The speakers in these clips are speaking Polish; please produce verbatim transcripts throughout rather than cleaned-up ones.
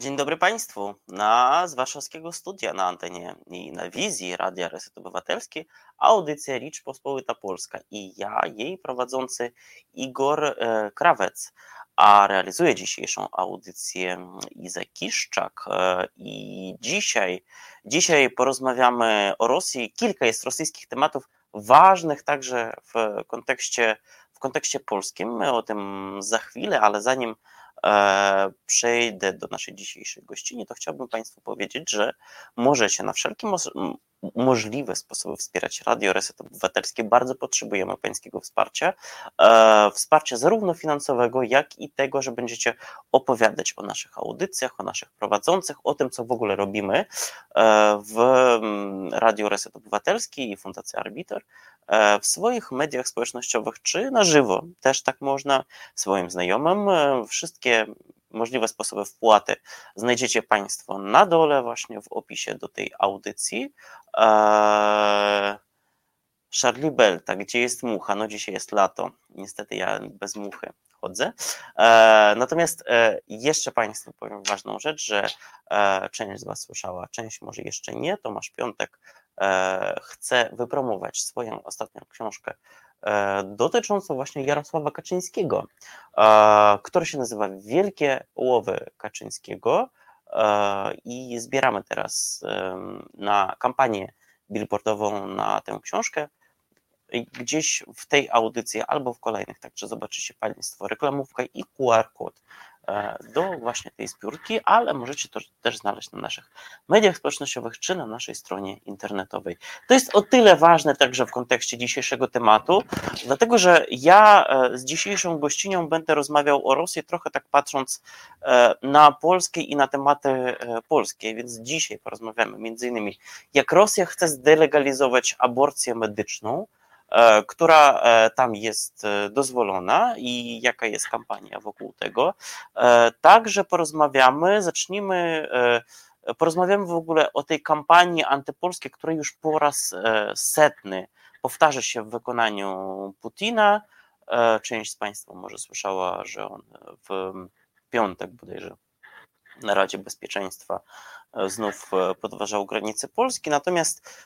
Dzień dobry Państwu. Na z warszawskiego studia na antenie i na wizji Radia Reset Obywatelski audycja Rzeczpospolita Polska i ja, jej prowadzący Igor e, Krawec, a realizuje dzisiejszą audycję Iza Kiszczak. E, I dzisiaj, dzisiaj porozmawiamy o Rosji. Kilka jest rosyjskich tematów ważnych także w kontekście, w kontekście polskim. My o tym za chwilę, ale zanim e, przejdę do naszej dzisiejszej gościni, to chciałbym Państwu powiedzieć, że możecie na wszelkie mo- możliwe sposoby wspierać Radio Reset Obywatelskie. Bardzo potrzebujemy Pańskiego wsparcia. E, wsparcia zarówno finansowego, jak i tego, że będziecie opowiadać o naszych audycjach, o naszych prowadzących, o tym, co w ogóle robimy e, w mm, Radio Reset Obywatelski i Fundacja Arbiter, e, w swoich mediach społecznościowych, czy na żywo. Też tak można swoim znajomym. E, Wszystkie możliwe sposoby wpłaty znajdziecie Państwo na dole, właśnie w opisie do tej audycji. Eee, Charlie Belta, gdzie jest mucha? No dzisiaj jest lato. Niestety ja bez muchy chodzę. E, natomiast e, jeszcze Państwu powiem ważną rzecz, że e, część z Was słyszała, część może jeszcze nie. Tomasz Piątek e, chce wypromować swoją ostatnią książkę e, dotyczącą właśnie Jarosława Kaczyńskiego, e, która się nazywa Wielkie Łowy Kaczyńskiego e, i zbieramy teraz e, na kampanię billboardową na tę książkę. Gdzieś w tej audycji albo w kolejnych, także zobaczycie Państwo reklamówkę i Q R kod do właśnie tej zbiórki, ale możecie to też znaleźć na naszych mediach społecznościowych czy na naszej stronie internetowej. To jest o tyle ważne także w kontekście dzisiejszego tematu, dlatego że ja z dzisiejszą gościnią będę rozmawiał o Rosji, trochę tak patrząc na Polskę i na tematy polskie, więc dzisiaj porozmawiamy między innymi, jak Rosja chce zdelegalizować aborcję medyczną, która tam jest dozwolona i jaka jest kampania wokół tego. Także porozmawiamy, zacznijmy, porozmawiamy w ogóle o tej kampanii antypolskiej, która już po raz setny powtarza się w wykonaniu Putina. Część z Państwa może słyszała, że on w piątek bodajże na Radzie Bezpieczeństwa znów podważał granice Polski, natomiast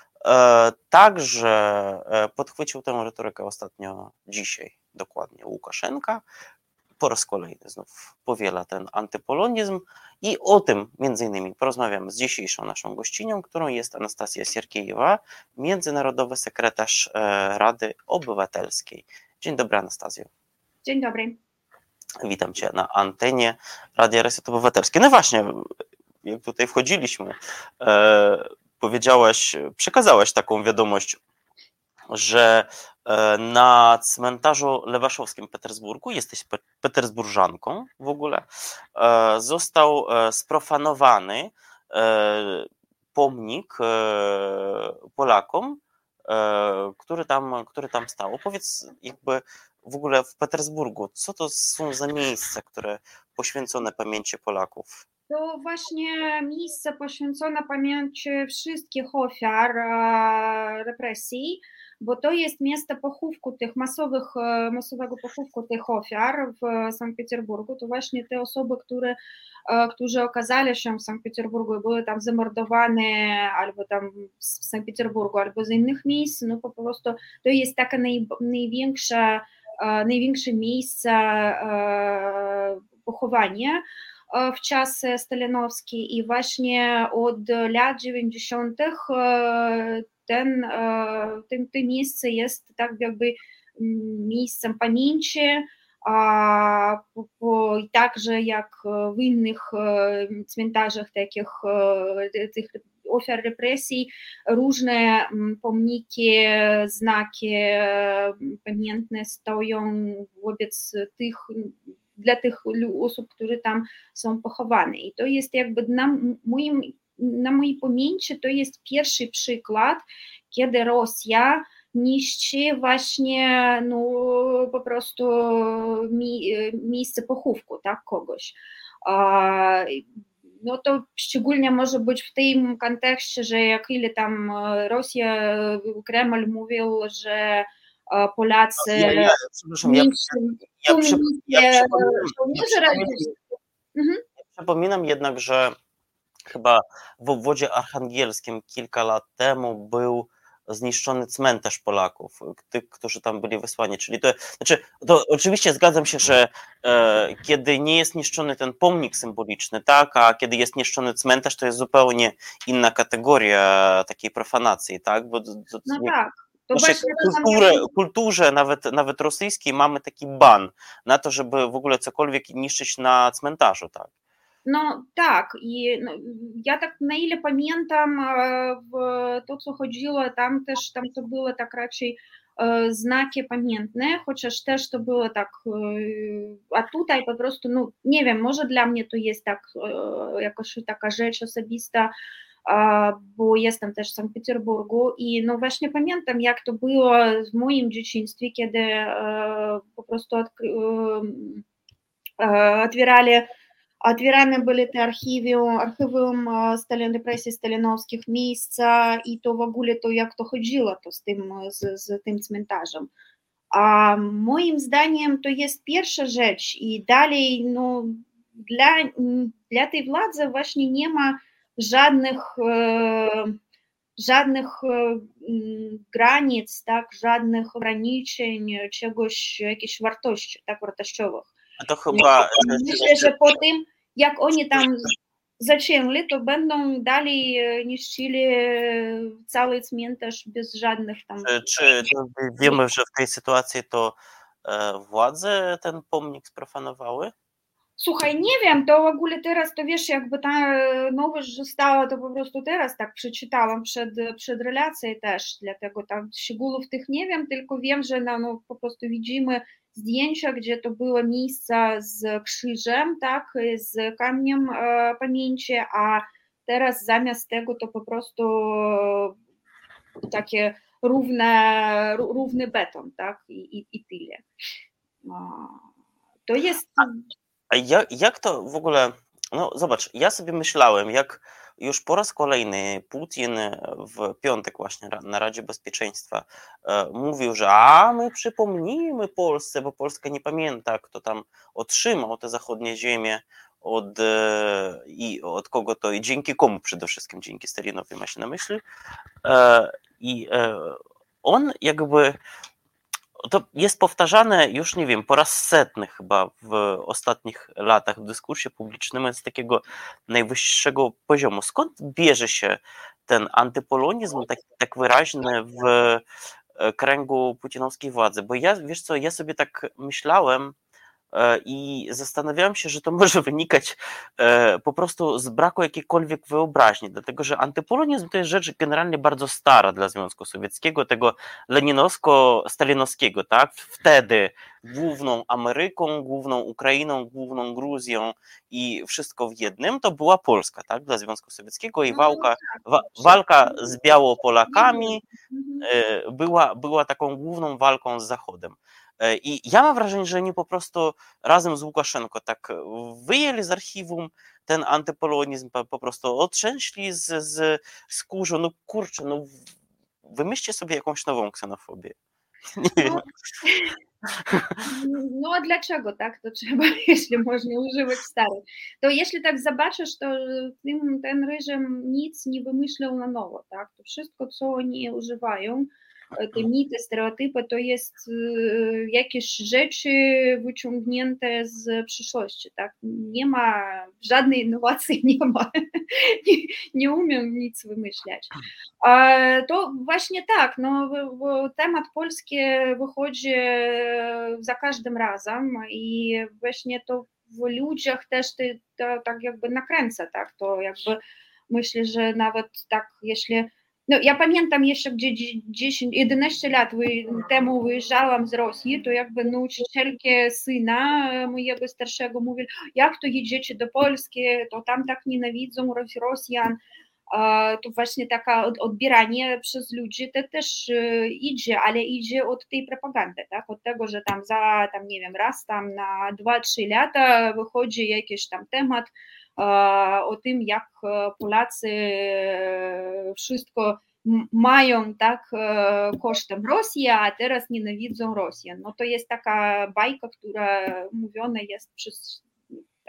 także podchwycił tę retorykę ostatnio dzisiaj, dokładnie Łukaszenka. Po raz kolejny znów powiela ten antypolonizm i o tym między innymi porozmawiamy z dzisiejszą naszą gościnią, którą jest Anastazja Sierkiejewa, międzynarodowy sekretarz Rady Obywatelskiej. Dzień dobry, Anastazjo. Dzień dobry. Witam Cię na antenie Radia Reset Obywatelskie. No właśnie, jak tutaj wchodziliśmy, e, powiedziałaś, przekazałaś taką wiadomość, że e, na cmentarzu lewaszowskim w Petersburgu, jesteś pe- petersburżanką w ogóle, e, został e, sprofanowany e, pomnik e, Polakom, e, który tam, który tam stał. Powiedz jakby w ogóle w Petersburgu, co to są za miejsca, które poświęcone pamięci Polaków? To właśnie miejsce poświęcone pamięci wszystkich ofiar e, represji, bo to jest miejsce pochówku tych masowych, e, masowego pochówku tych ofiar w Sankt Petersburgu. To właśnie te osoby, które, e, którzy okazali się w Sankt Petersburgu i były tam zamordowane albo tam w Sankt Petersburgu, albo z innych miejsc, no po prostu to jest takie naj, największe, e, największe miejsce e, pochowania w czasy stalinowskie i właśnie od lat dziewięćdziesiątych ten, ten, to miejsce jest tak jakby miejscem pamięci, a także jak w innych cmentarzach takich tych ofiar represji różne pomniki, znaki pamiętne stoją wobec tych dla tych osób, które tam są pochowane. I to jest jakby na moim, na mojej pamięci to jest pierwszy przykład, kiedy Rosja niszczy właśnie no, po prostu mi, miejsce pochówku, tak, kogoś. No to szczególnie może być w tym kontekście, że jak ile tam Rosja, Kreml mówił, że Polacy Ja, ja, przepraszam, ja, ja, ja, przy, ja, przypominam, ja, przypominam, mhm. Przypominam jednak, że chyba w obwodzie archangelskim kilka lat temu był zniszczony cmentarz Polaków, tych, którzy tam byli wysłani. Czyli to, znaczy, to oczywiście zgadzam się, że e, kiedy nie jest niszczony ten pomnik symboliczny, tak, a kiedy jest niszczony cmentarz, to jest zupełnie inna kategoria takiej profanacji, tak? Bo, to, to, No nie, tak, w to naszej właśnie kulturze, kulturze nawet, nawet rosyjskiej mamy taki ban na to, żeby w ogóle cokolwiek niszczyć na cmentarzu, tak? No tak, i no, ja tak na ile pamiętam, e, w to co chodziło, tam też tam to było tak raczej e, znaki pamiętne, chociaż też to było tak, e, a tutaj po prostu, no nie wiem, może dla mnie to jest tak e, jakoś taka rzecz osobista, e, bo jestem też w Sankt Petersburgu i no właśnie pamiętam jak to było w moim dzieciństwie, kiedy e, po prostu odkry- e, e, otwierali Otwierane były te archiwium, archiwum Stalin, represji stalinowskich miejsca i to w ogóle to jak to chodziło to z tym, z, z tym cmentarzem. A moim zdaniem to jest pierwsza rzecz i dalej no, dla, dla tej władzy właśnie nie ma żadnych, e, żadnych e, granic, tak, żadnych ograniczeń, czegoś, jakichś wartości, tak, wartościowych. A to chyba... Myślę, że po tym, jak oni tam zaczęli, to będą dalej niszczyli cały cmentarz bez żadnych tam... Czy, czy wiemy, że w tej sytuacji to e, władze ten pomnik sprofanowały? Słuchaj, nie wiem, to w ogóle teraz, to wiesz, jakby ta nowość została, to po prostu teraz tak przeczytałam przed, przed relacją też, dlatego tam szczegółów tych nie wiem, tylko wiem, że no, no, po prostu widzimy zdjęcia, gdzie to było miejsce z krzyżem, tak, z kamieniem e, pamięci, a teraz zamiast tego to po prostu takie równe, równy beton, tak, i, i, i tyle. To jest... A jak, jak to w ogóle, no zobacz, ja sobie myślałem, jak już po raz kolejny Putin w piątek właśnie na Radzie Bezpieczeństwa e, mówił, że a my przypomnimy Polsce, bo Polska nie pamięta, kto tam otrzymał te zachodnie ziemie od, e, i od kogo to i dzięki komu przede wszystkim, dzięki Stalinowi ma się na myśli. E, I e, on jakby... To jest powtarzane już, nie wiem, po raz setny chyba w ostatnich latach w dyskursie publicznym z takiego najwyższego poziomu. Skąd bierze się ten antypolonizm tak, tak wyraźny w kręgu putinowskiej władzy? Bo ja, wiesz co, ja sobie tak myślałem i zastanawiałem się, że to może wynikać po prostu z braku jakiejkolwiek wyobraźni, dlatego że antypolonizm to jest rzecz generalnie bardzo stara dla Związku Sowieckiego, tego leninowsko-stalinowskiego, tak? Wtedy główną Ameryką, główną Ukrainą, główną Gruzją i wszystko w jednym to była Polska, tak? Dla Związku Sowieckiego i walka, wa, walka z Białopolakami była, była taką główną walką z Zachodem. I ja mam wrażenie, że oni po prostu razem z Łukaszenko tak wyjęli z archiwum ten antypolonizm, po prostu otrzęśli z, z skórzu. No kurczę, no wymyślcie sobie jakąś nową ksenofobię. Nie wiem. No, no a dlaczego tak to trzeba, jeśli można używać starych? To jeśli tak zobaczysz, to ten, ten reżim nic nie wymyślał na nowo, tak? To wszystko, co oni używają, te mity, stereotypy, to jest jakieś rzeczy wyciągnięte z przyszłości, tak? Nie ma żadnej innowacji, nie ma, nie, nie umiem nic wymyślać. To właśnie tak, no, temat polski wychodzi za każdym razem i właśnie to w ludziach też to, to tak jakby nakręca, tak? To jakby myślę, że nawet tak, jeśli no, ja pamiętam jeszcze, gdzie dziesięć jedenaście lat temu wyjeżdżałam z Rosji, to jakby nauczycielki syna mojego starszego mówili, jak to jedziecie do Polski, to tam tak nienawidzą Rosjan, to właśnie takie odbieranie przez ludzi to też idzie, ale idzie od tej propagandy, tak? Od tego, że tam za, tam nie wiem, raz tam na dwa trzy lata wychodzi jakiś tam temat o tym, jak Polacy wszystko mają tak kosztem Rosji, a teraz nienawidzą Rosjan. No to jest taka bajka, która mówiona jest przez tak,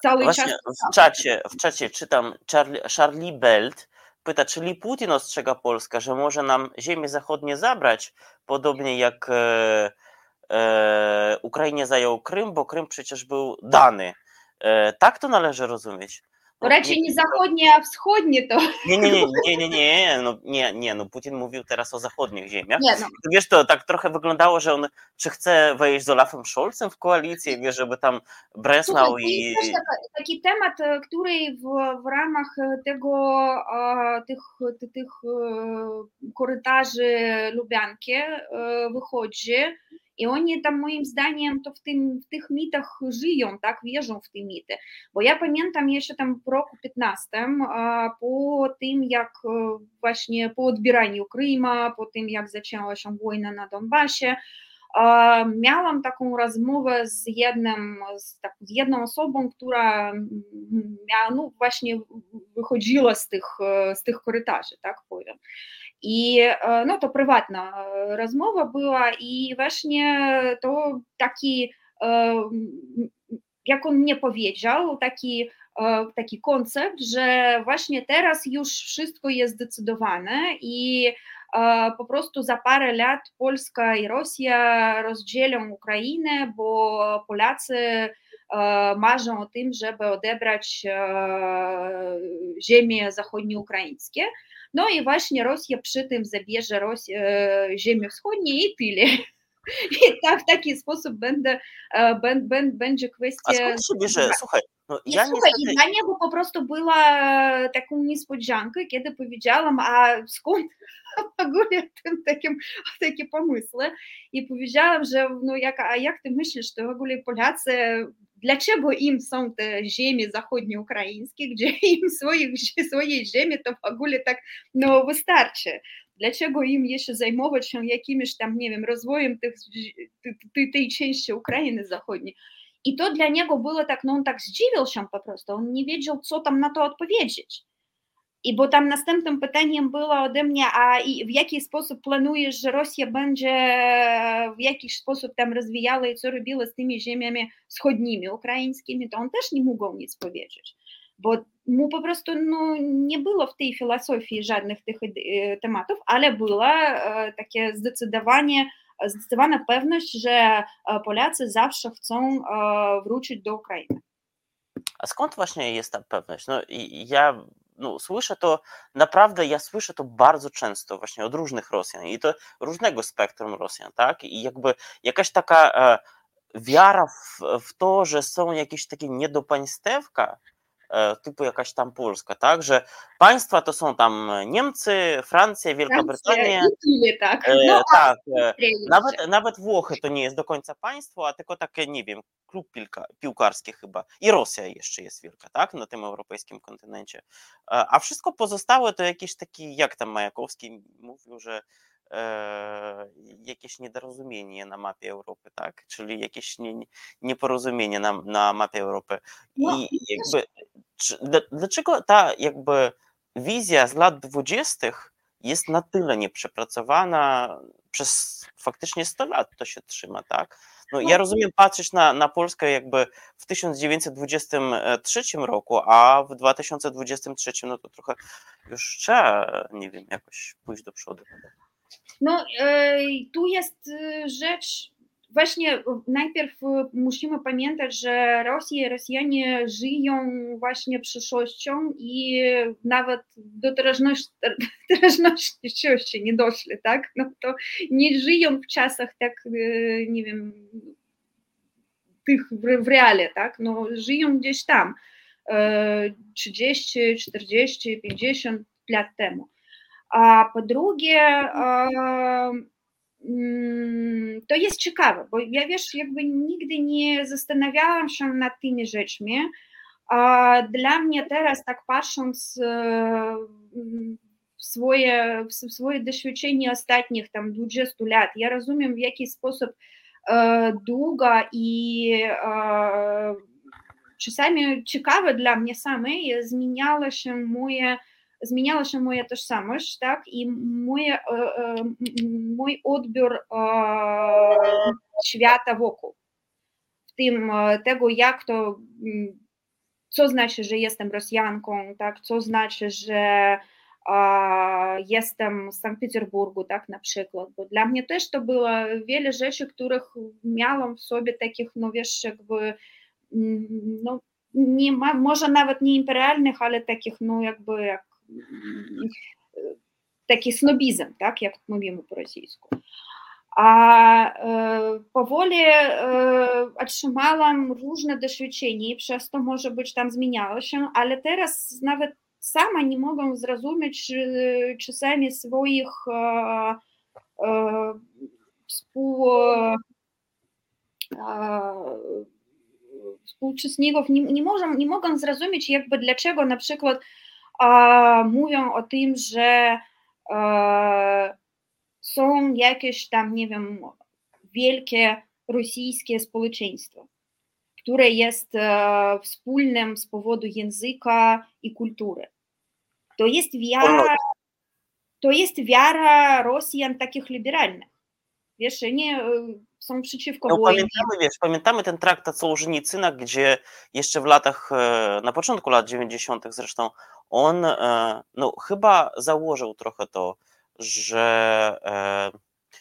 cały czas. Właśnie w czacie, w czacie czytam, Charlie, Charlie Belt pyta, czyli Putin ostrzega Polskę, że może nam ziemie zachodnie zabrać, podobnie jak e, e, Ukrainie zajął Krym, bo Krym przecież był dany. E, tak to należy rozumieć. To No, raczej nie, nie zachodnie, a wschodnie to. nie, nie, nie, nie, nie, nie, no, nie, nie, no Putin mówił teraz o zachodnich ziemiach. Nie, no. To wiesz, to tak trochę wyglądało, że on czy chce wejść z Olafem Scholzem w koalicję, wiesz, żeby tam Breslau Słuchaj, to i... jest też taka, taki temat, e, który w, w ramach tego, e, tych, ty- tych e, korytarzy Lubianki e, wychodzi i oni tam moim zdaniem to w, tym, w tych mitach żyją, tak, wierzą w te mity. Bo ja pamiętam jeszcze tam w roku piętnastym, e, po tym jak e, właśnie po odbieraniu Kryma, po tym jak zaczęła się wojna na Donbasie, miałam taką rozmowę z jednym, z, tak, z jedną osobą, która miała, no właśnie wychodziła z tych, z tych korytarzy, tak powiem. I no to prywatna rozmowa była i właśnie to taki, jak on mnie powiedział, taki taki koncept, że właśnie teraz już wszystko jest zdecydowane i po prostu za parę lat Polska i Rosja rozdzielą Ukrainę, bo Polacy marzą o tym, żeby odebrać ziemie zachodnioukraińskie. No i właśnie Rosja przy tym zabierze Rosję, ziemię wschodnie i tyle. I tak, w taki sposób będę, ben, ben, będzie kwestia... A skąd się bierze? Słuchaj, no I ja słuchaj, niestety... i dla niego po prostu była taką niespodziankę, kiedy powiedziałam, a skąd w ogóle tym takim, takie pomysły. I powiedziałam, że no jak, a jak ty myślisz, to w ogóle Polacy, dlaczego im są te ziemie zachodnioukraińskie, gdzie im swoich, swojej ziemi to w ogóle tak no wystarczy. Dlaczego im jeszcze zajmować się jakimś tam, nie wiem, rozwojem tych, tej, tej części Ukrainy Zachodniej? I to dla niego było tak, no on tak zdziwił się po prostu, on nie wiedział, co tam na to odpowiedzieć. I bo tam następnym pytaniem było ode mnie, a i w jaki sposób planujesz, że Rosja będzie w jakiś sposób tam rozwijała i co robiła z tymi ziemiami wschodnimi, ukraińskimi, to on też nie mógł nic powiedzieć. Bo mu po prostu no, nie było w tej filozofii żadnych tych tematów, ale była takie zdecydowanie zdecydowana pewność, że Polacy zawsze chcą wrócić do Ukrainy. A skąd właśnie jest ta pewność? No i ja no, słyszę to, naprawdę ja słyszę to bardzo często właśnie od różnych Rosjan i to różnego spektrum Rosjan, tak? I jakby jakaś taka e, wiara w, w to, że są jakieś takie niedopaństewka, typu jakaś tam Polska, tak, że państwa to są tam Niemcy, Francja, Wielka Brytania, i tak, no, e, tak, e, nawet, nawet, nawet Włochy to nie jest do końca państwo, a tylko takie, nie wiem, klub piłka, piłkarski chyba i Rosja jeszcze jest wielka, tak, na tym europejskim kontynencie, a wszystko pozostałe to jakiś taki, jak tam Majakowski mówił, że e, jakieś niedorozumienie na mapie Europy, tak, czyli jakieś nie, nieporozumienie na, na mapie Europy i no, jakby czy, dlaczego ta jakby wizja z lat dwudziestych jest na tyle nieprzepracowana, przez faktycznie sto lat to się trzyma, tak? No, ja rozumiem patrzeć na, na Polskę jakby w tysiąc dziewięćset dwudziestym trzecim roku, a w dwa tysiące dwudziestym trzecim no to trochę już trzeba, nie wiem, jakoś pójść do przodu. No, e, tu jest rzecz, właśnie najpierw musimy pamiętać, że Rosja i Rosjanie żyją właśnie przyszłością i nawet do teraźności, teraźności nie doszli, tak? No to nie żyją w czasach tak, nie wiem, tych w, w reale, tak? No żyją gdzieś tam trzydzieści, czterdzieści, pięćdziesiąt lat temu. A po drugie, to jest ciekawe, bo ja wiesz, jakby nigdy nie zastanawiałam się nad tymi rzeczami. Dla mnie teraz, tak patrząc w swoje, w swoje doświadczenie ostatnich tam dwudziestu lat, ja rozumiem, w jaki sposób długa i czasami ciekawe dla mnie samej zmieniała się moje zmieniała się moja tożsamość, tak, i moje, mój odbiór świata wokół, w tym tego, jak to co znaczy, że jestem Rosjanką, tak, co znaczy, że a, jestem z Sankt Petersburgu, tak, na przykład, bo dla mnie też to było wiele rzeczy, których miałam w sobie takich, no wiesz, jakby, no, nie ma, może nawet nie imperialnych, ale takich, no jakby, jak, taki snobizm, tak, jak mówimy po rosyjsku. A e, powoli e, otrzymałam różne doświadczenia i przez to może być tam zmieniało się, ale teraz nawet sama nie mogę zrozumieć e, czasami swoich e, e, współ, e, współuczestników, nie, nie, mogę, nie mogę zrozumieć jakby dlaczego na przykład e, mówią o tym, że e, są jakieś tam, nie wiem, wielkie rosyjskie społeczeństwo, które jest e, wspólnym z powodu języka i kultury. To jest wiara, to jest wiara Rosjan takich liberalnych. Wiesz, nie są przeciwko No, wojnie. pamiętamy, wiesz, pamiętamy ten traktat Sołżenicyna, gdzie jeszcze w latach, na początku lat dziewięćdziesiątych zresztą, on no, chyba założył trochę to, że e,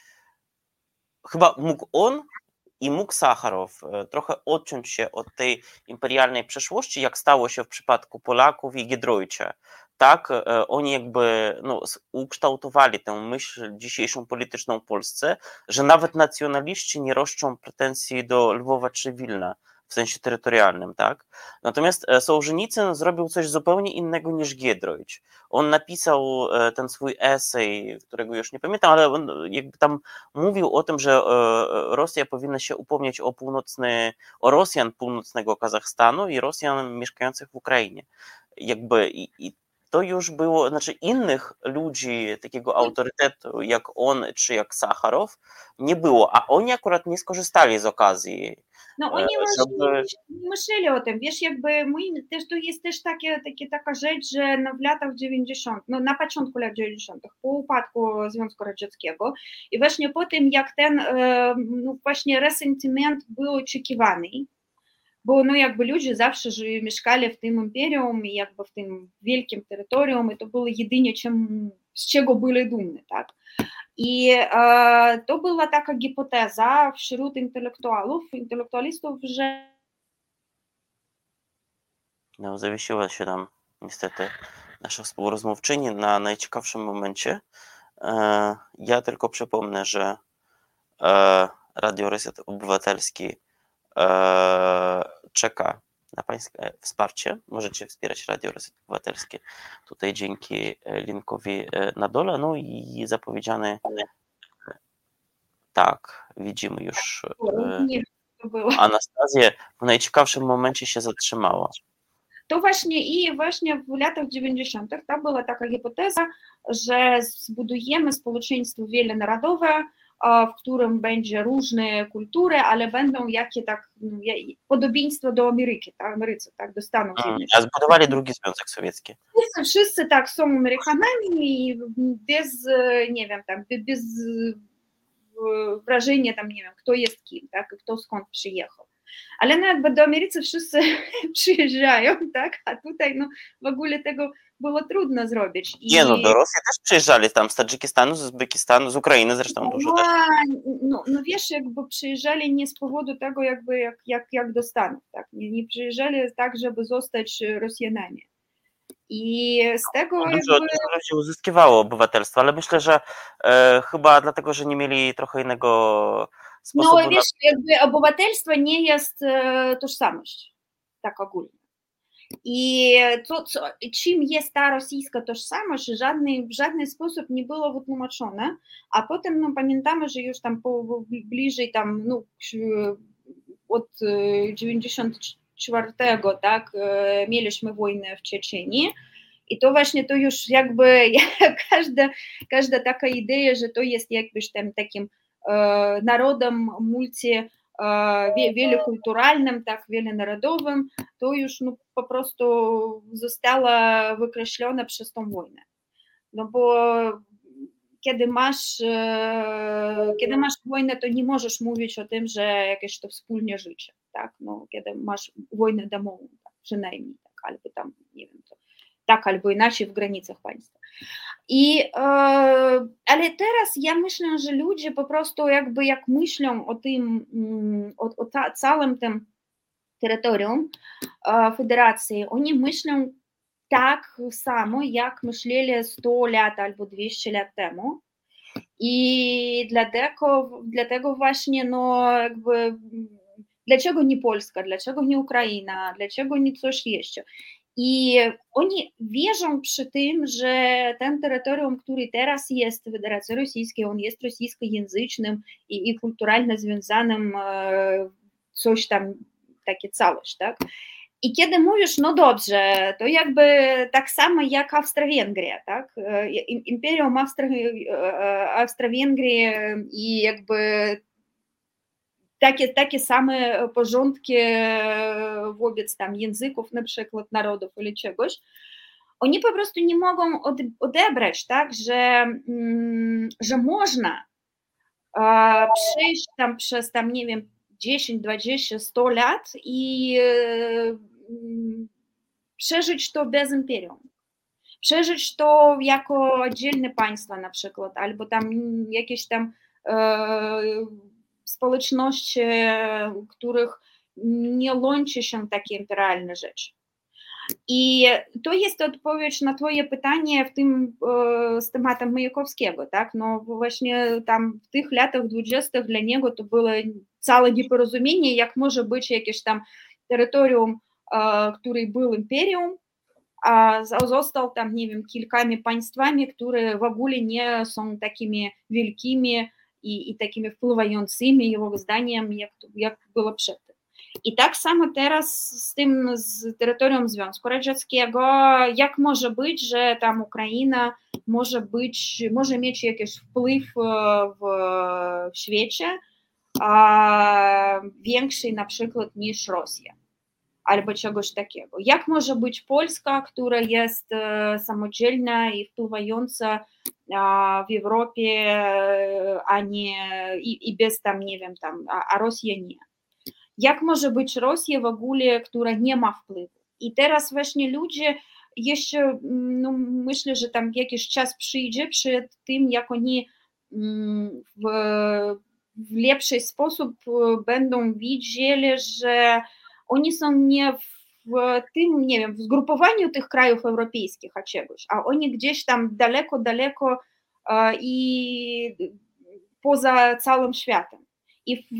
chyba mógł on i mógł Sacharow trochę odciąć się od tej imperialnej przeszłości, jak stało się w przypadku Polaków i Giedroycia. Tak, oni jakby no, ukształtowali tę myśl dzisiejszą polityczną w Polsce, że nawet nacjonaliści nie roszczą pretensji do Lwowa czy Wilna w sensie terytorialnym, tak? Natomiast Sołżenicyn zrobił coś zupełnie innego niż Giedroyć. On napisał ten swój esej, którego już nie pamiętam, ale on jakby tam mówił o tym, że Rosja powinna się upomnieć o północny, o Rosjan północnego Kazachstanu i Rosjan mieszkających w Ukrainie. Jakby i, i to już było, znaczy innych ludzi takiego autorytetu jak on czy jak Sacharow nie było, a oni akurat nie skorzystali z okazji. No oni żeby... właśnie nie myśleli o tym, wiesz, jakby my, też to jest też takie, takie, taka rzecz, że no w latach dziewięćdziesiątych, no na początku lat dziewięćdziesiątych, po upadku Związku Radzieckiego i właśnie po tym, jak ten no właśnie resentyment był oczekiwany, bo no jakby ludzie zawsze żyli, mieszkali w tym imperium i jakby w tym wielkim terytorium i to było jedynie czym, z czego byli dumni, tak? I e, to była taka hipoteza wśród intelektualów, intelektualistów, że... No, zawiesiła się nam niestety nasza współrozmówczyni na najciekawszym momencie. E, ja tylko przypomnę, że e, Radio Reset Obywatelski e, czeka na Pańskie wsparcie. Możecie wspierać Radio Reset Obywatelskie tutaj dzięki linkowi na dole. No i zapowiedziany tak, widzimy już Nie, to było. Anastazję w najciekawszym momencie się zatrzymała. To właśnie i właśnie w latach dziewięćdziesiątych to była taka hipoteza, że zbudujemy społeczeństwo wielonarodowe, w którym będzie różne kultury, ale będą jakie tak podobieństwo do Ameryki, tak, Ameryce, tak, do Stanów Zjednoczonych. A zbudowali drugi Związek Sowiecki. Wszyscy, wszyscy tak są Amerykanami i bez, nie wiem, tam, bez wrażenia tam, nie wiem, kto jest kim, tak, kto skąd przyjechał. Ale no jakby do Ameryki wszyscy przyjeżdżają, tak, a tutaj no w ogóle tego było trudno zrobić. I... Nie no, do Rosji też przyjeżdżali tam z Tadżykistanu, z Uzbekistanu, z Ukrainy zresztą no, dużo też. No, no wiesz, jakby przyjeżdżali nie z powodu tego jakby jak, jak, jak do Stanów, tak, nie, nie przyjeżdżali tak, żeby zostać Rosjanami. I z tego Dużo, jakby... dużo ludzi uzyskiwało obywatelstwo, ale myślę, że e, chyba dlatego, że nie mieli trochę innego sposobu. No wiesz, na... jakby obywatelstwo nie jest e, tożsamość, tak ogólnie. I to, co, czym jest ta rosyjska tożsamość, żadnej, w żaden sposób nie było wytłumaczone, a potem no, pamiętamy, że już tam po, bliżej tam, no, od dziewięćdziesiątego czwartego, tak, mieliśmy wojnę w Czeczenii i to właśnie to już jakby każda, każda taka idea, że to jest jakbyś tam takim e, narodem multi wielokulturalnym, tak, wielonarodowym, to już no, po prostu została wykreślona przez tą wojnę. No bo kiedy masz, kiedy masz wojnę, to nie możesz mówić o tym, że jakieś to wspólne życie, tak, no, kiedy masz wojnę domową. przynajmniej, tak, albo tam, nie wiem, to, tak albo inaczej w granicach państwa. I, e, ale teraz ja myślę, że ludzie po prostu jakby jak myślą o tym, o, o ta, całym tym terytorium e, federacji, oni myślą tak samo, jak myśleli sto lat albo dwieście lat temu. I dlatego, dlatego właśnie, no jakby, dlaczego nie Polska, dlaczego nie Ukraina, dlaczego nie coś jeszcze. I oni wierzą przy tym, że ten terytorium, który teraz jest w Federacji Rosyjskiej, on jest rosyjskojęzycznym i, i kulturalnie związanym, coś tam, takie całość, tak? I kiedy mówisz, no dobrze, to jakby tak samo jak Awstro-Węgria, tak? Imperium Awstro-Węgrii i jakby takie, takie same porządki wobec tam języków, na przykład narodów или czegoś, oni po prostu nie mogą odebrać, tak, że, że można przejść tam przez tam, nie wiem, dziesięć, dwadzieścia, sto lat i przeżyć to bez imperium. Przeżyć to jako oddzielne państwa na przykład, albo tam jakieś tam e, społeczności, których nie łączy się takie imperialne rzeczy. I to jest odpowiedź na twoje pytanie w tym e, z tematem Majakowskiego, tak? No właśnie tam w tych latach dwudziestych dla niego to było całe nieporozumienie, jak może być jakieś tam terytorium, e, które było imperium, a został tam, nie wiem, kilkoma państwami, które w ogóle nie są takimi wielkimi i, i takimi wpływającymi jego zdaniem, jak, jak było przedtem. I tak samo teraz z tym, z terytorium Związku Radzieckiego, jak może być, że tam Ukraina może być, może mieć jakiś wpływ w, w świecie, a większy na przykład niż Rosja. Albo czegoś takiego. Jak może być Polska, która jest samodzielna i wpływająca w Europie, a nie i, i bez tam, nie wiem, tam, a, a Rosja nie. Jak może być Rosja w ogóle, która nie ma wpływu? I teraz właśnie ludzie jeszcze, no myślę, że tam jakiś czas przyjdzie przed tym, jak oni w, w lepszy sposób będą widzieli, że oni są nie w tym, nie wiem, w zgrupowaniu tych krajów europejskich, a czegoś, a oni gdzieś tam daleko, daleko i poza całym światem. I w,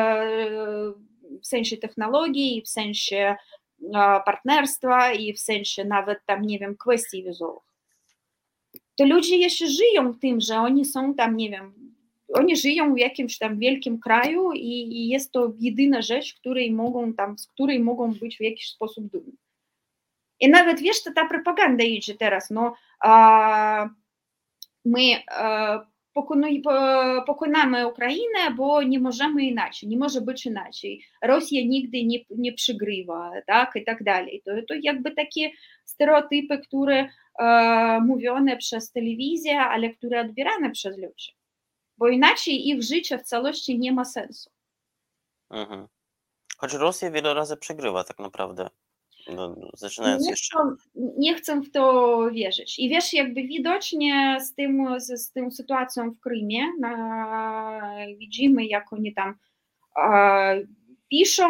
w sensie technologii, i w sensie partnerstwa, i w sensie nawet tam, nie wiem, kwestii wizowych. To ludzie jeszcze żyją tym, że oni są tam, nie wiem, oni żyją w jakimś tam wielkim kraju i, i jest to jedyna rzecz, której mogą tam, z której mogą być w jakiś sposób dumni. I nawet, wiesz, to ta propaganda idzie teraz, no, a, my a, pokonuj, pokonamy Ukrainę, bo nie możemy inaczej, nie może być inaczej. Rosja nigdy nie, nie przegrywa, tak, i tak dalej. To, to jakby takie stereotypy, które a, mówione przez telewizję, ale które odbierane przez ludzi. Bo inaczej ich życie w całości nie ma sensu. Mhm. Choć Rosja wiele razy przegrywa tak naprawdę. No, zaczynając nie jeszcze. Chcę, nie chcę w to wierzyć. I wiesz, jakby widocznie z tym, z, z tą sytuacją w Krymie na, widzimy, jak oni tam e, piszą,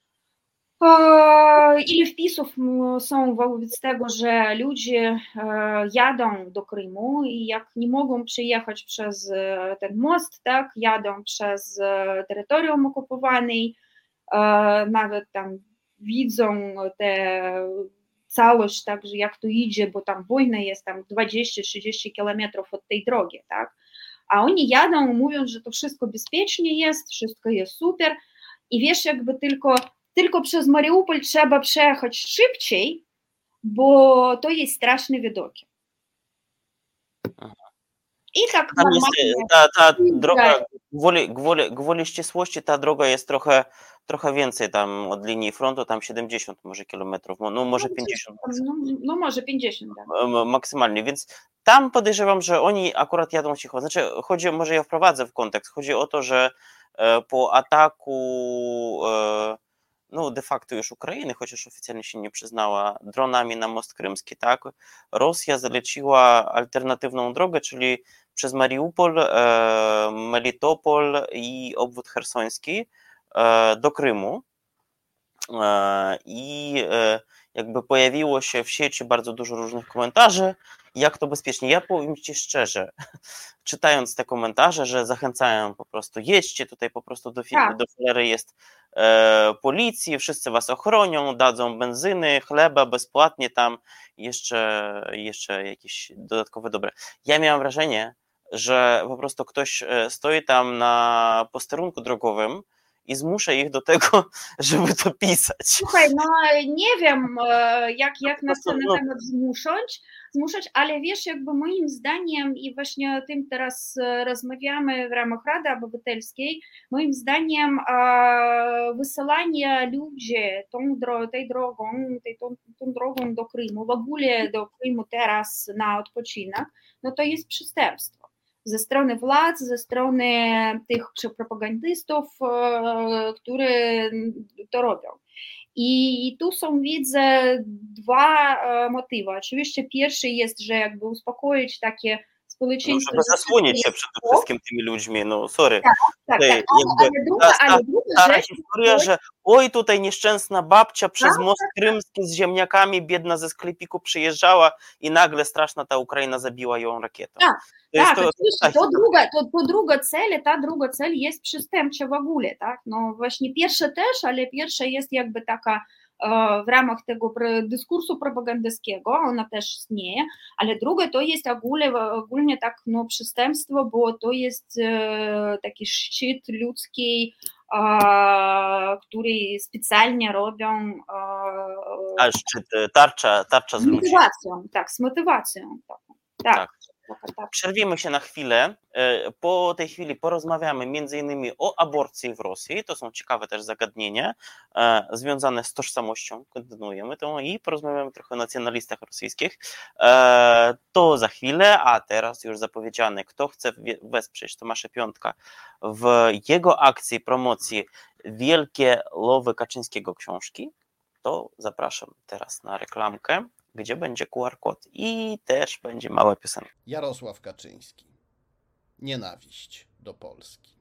e, ile wpisów są wobec tego, że ludzie e, jadą do Krymu i jak nie mogą przyjechać przez ten most, tak, jadą przez terytorium okupowane, e, nawet tam widzą tę całość, tak, że jak to idzie, bo tam wojna jest tam dwadzieścia trzydzieści kilometrów od tej drogi, tak, a oni jadą, mówią, że to wszystko bezpiecznie jest, wszystko jest super i wiesz, jakby tylko, tylko przez Mariupol trzeba przejechać szybciej, bo to jest straszne widoki. I tak Tam jest ta, ta droga, gwoli, gwoli, gwoli ścisłości, ta droga jest trochę, trochę więcej tam od linii frontu, tam siedemdziesiąt może kilometrów, no może pięćdziesiąt. No, no może pięćdziesiąt, tak. Maksymalnie, więc tam podejrzewam, że oni akurat jadą cicho. Znaczy, chodzi, może ja wprowadzę w kontekst, chodzi o to, że po ataku no de facto już Ukrainy, chociaż oficjalnie się nie przyznała, dronami na most krymski, tak? Rosja zaleciła alternatywną drogę, czyli przez Mariupol, e, Melitopol i obwód chersoński e, do Krymu. E, I e, jakby pojawiło się w sieci bardzo dużo różnych komentarzy, jak to bezpiecznie. Ja powiem Ci szczerze, czytając te komentarze, że zachęcają po prostu, jedźcie tutaj po prostu do, Tak. do filery jest e, policji, wszyscy was ochronią, dadzą benzyny, chleba bezpłatnie tam, jeszcze, jeszcze jakieś dodatkowe dobre. Ja miałam wrażenie, że po prostu ktoś stoi tam na posterunku drogowym i zmusza ich do tego, żeby to pisać. Słuchaj, no nie wiem, jak, jak na ten temat zmuszać, zmuszać, ale wiesz, jakby moim zdaniem i właśnie o tym teraz rozmawiamy w ramach Rady Obywatelskiej, moim zdaniem wysyłanie ludzi tą, tej drogą, tej, tą, tą drogą do Krymu, w ogóle do Krymu teraz na odpoczynek, no to jest przestępstwo. Ze strony władz, ze strony tych propagandystów, którzy to robią. I tu są, widzę, dwa motywy. Oczywiście pierwszy jest, że jakby uspokoić takie społeczeństwo. No, żeby zasłonić się przede wszystkim tymi ludźmi, no sorry. Tak, tak, tak. Ale, ale druga, ta, ale druga stara rzecz, historia, że oj tutaj nieszczęsna babcia przez tak, most tak, krymski z ziemniakami, biedna ze sklepiku przyjeżdżała i nagle straszna ta Ukraina zabiła ją rakietą. Tak, to, tak, to, to, to, druga, to, to druga cel, ta druga cel jest przestępcza w ogóle, tak? No właśnie pierwsza też, ale pierwsza jest jakby taka w ramach tego dyskursu propagandystskiego, ona też istnieje, ale drugie to jest ogólnie, ogólnie tak no, przestępstwo, bo to jest e, taki szczyt ludzki, e, który specjalnie robią. E, A szczyt, tarcza, tarcza z, z motywacją, ludzi. Tak, z motywacją. Tak. tak. tak. Przerwijmy się na chwilę. Po tej chwili porozmawiamy między innymi o aborcji w Rosji. To są ciekawe też zagadnienia związane z tożsamością. Kontynuujemy to i porozmawiamy trochę o nacjonalistach rosyjskich. To za chwilę, a teraz już zapowiedziane, kto chce wesprzeć Tomasza Piątka w jego akcji promocji Wielkie Lowy Kaczyńskiego książki, to zapraszam teraz na reklamkę, gdzie będzie Q R kod i też będzie mała piosenka. Jarosław Kaczyński. Nienawiść do Polski.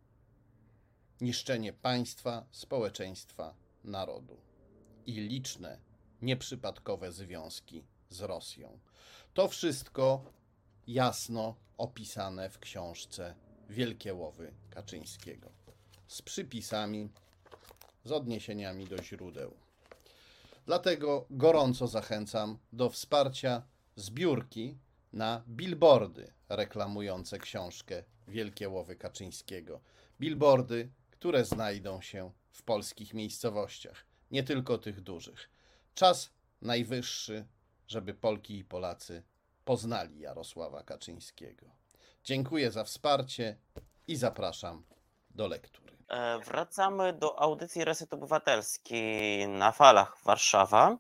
Niszczenie państwa, społeczeństwa, narodu i liczne, nieprzypadkowe związki z Rosją. To wszystko jasno opisane w książce Wielkie Łowy Kaczyńskiego. Z przypisami, z odniesieniami do źródeł. Dlatego gorąco zachęcam do wsparcia zbiórki na billboardy reklamujące książkę Wielkie Łowy Kaczyńskiego. Billboardy, które znajdą się w polskich miejscowościach, nie tylko tych dużych. Czas najwyższy, żeby Polki i Polacy poznali Jarosława Kaczyńskiego. Dziękuję za wsparcie i zapraszam do lektury. Wracamy do audycji Reset Obywatelski na falach Warszawa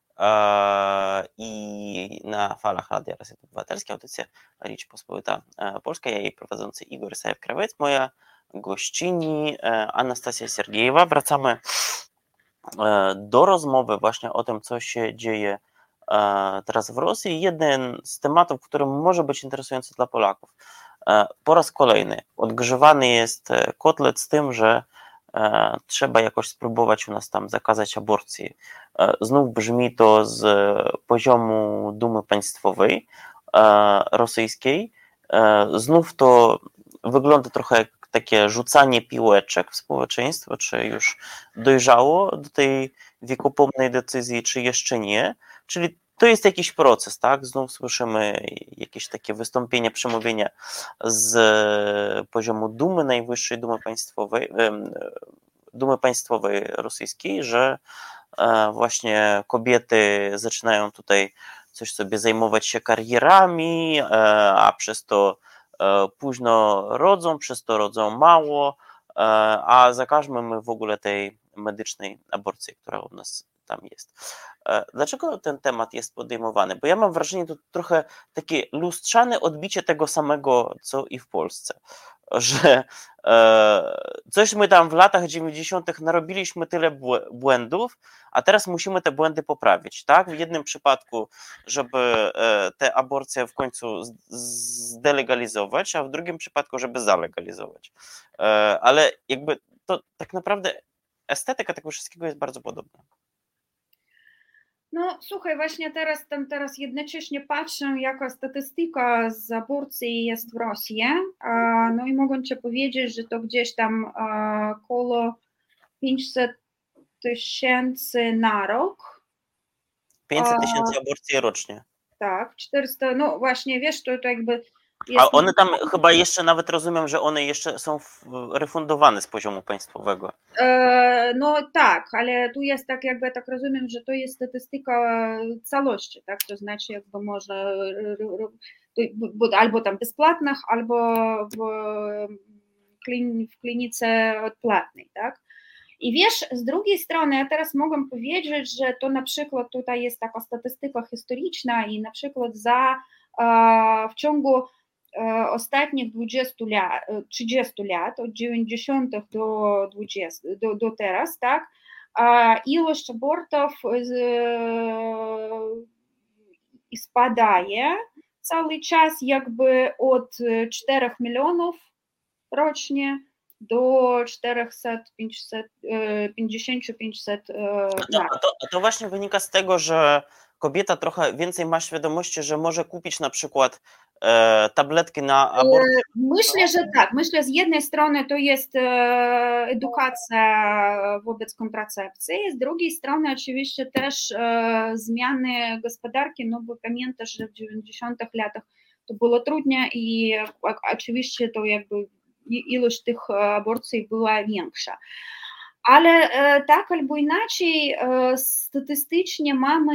i na falach Radia Reset Obywatelski, audycja Rzeczpospolita Polska, ja jej prowadzący Igor Isajew-Krawiec, moja gościni Anastazja Sergiejewa. Wracamy do rozmowy właśnie o tym, co się dzieje teraz w Rosji. Jeden z tematów, który może być interesujący dla Polaków. Po raz kolejny odgrzewany jest kotlet z tym, że trzeba jakoś spróbować u nas tam zakazać aborcji. Znów brzmi to z poziomu Dumy Państwowej rosyjskiej. Znów to wygląda trochę jak takie rzucanie piłeczek w społeczeństwo, czy już dojrzało do tej wiekopomnej decyzji, czy jeszcze nie. Czyli to jest jakiś proces, tak? Znów słyszymy jakieś takie wystąpienia, przemówienia z poziomu Dumy, najwyższej Dumy Państwowej, Dumy Państwowej rosyjskiej, że właśnie kobiety zaczynają tutaj coś sobie zajmować się karierami, a przez to późno rodzą, przez to rodzą mało, a zakażmy my w ogóle tej medycznej aborcji, która u nas tam jest. Dlaczego ten temat jest podejmowany? Bo ja mam wrażenie, to trochę takie lustrzane odbicie tego samego, co i w Polsce. że e, coś my tam w latach dziewięćdziesiątych narobiliśmy tyle błędów, a teraz musimy te błędy poprawić, tak? W jednym przypadku, żeby e, te aborcje w końcu zdelegalizować, a w drugim przypadku, żeby zalegalizować. E, ale jakby to tak naprawdę estetyka tego wszystkiego jest bardzo podobna. No słuchaj, właśnie teraz tam teraz jednocześnie patrzę, jaka statystyka z aborcji jest w Rosji, no i mogę Ci powiedzieć, że to gdzieś tam około pięćset tysięcy na rok. pięćset tysięcy aborcji rocznie. Tak, czterysta, no właśnie, wiesz, to, to jakby... A one tam chyba jeszcze nawet rozumiem, że one jeszcze są refundowane z poziomu państwowego. E, no tak, ale tu jest tak jakby, tak rozumiem, że to jest statystyka całości, tak, to znaczy jakby można albo tam bezpłatnych, albo w, klin, w klinice odpłatnej, tak. I wiesz, z drugiej strony, ja teraz mogę powiedzieć, że to na przykład tutaj jest taka statystyka historyczna i na przykład za w ciągu ostatnich dwudziestu lat, trzydziestu lat, od dziewięćdziesiątych do dwudziestych, do, do teraz, tak, ilość abortów spadaje cały czas jakby od czterech milionów rocznie do czterysta pięćdziesiąt do pięciuset. A to, a to właśnie wynika z tego, że kobieta trochę więcej ma świadomości, że może kupić na przykład e, tabletki na aborcję. Myślę, że tak. Myślę, z jednej strony to jest e, edukacja wobec kontracepcji, z drugiej strony oczywiście też e, zmiany gospodarki, no bo pamiętasz, że w dziewięćdziesiątych latach to było trudniej i oczywiście to jakby ilość tych aborcji była większa. Ale tak albo inaczej statystycznie mamy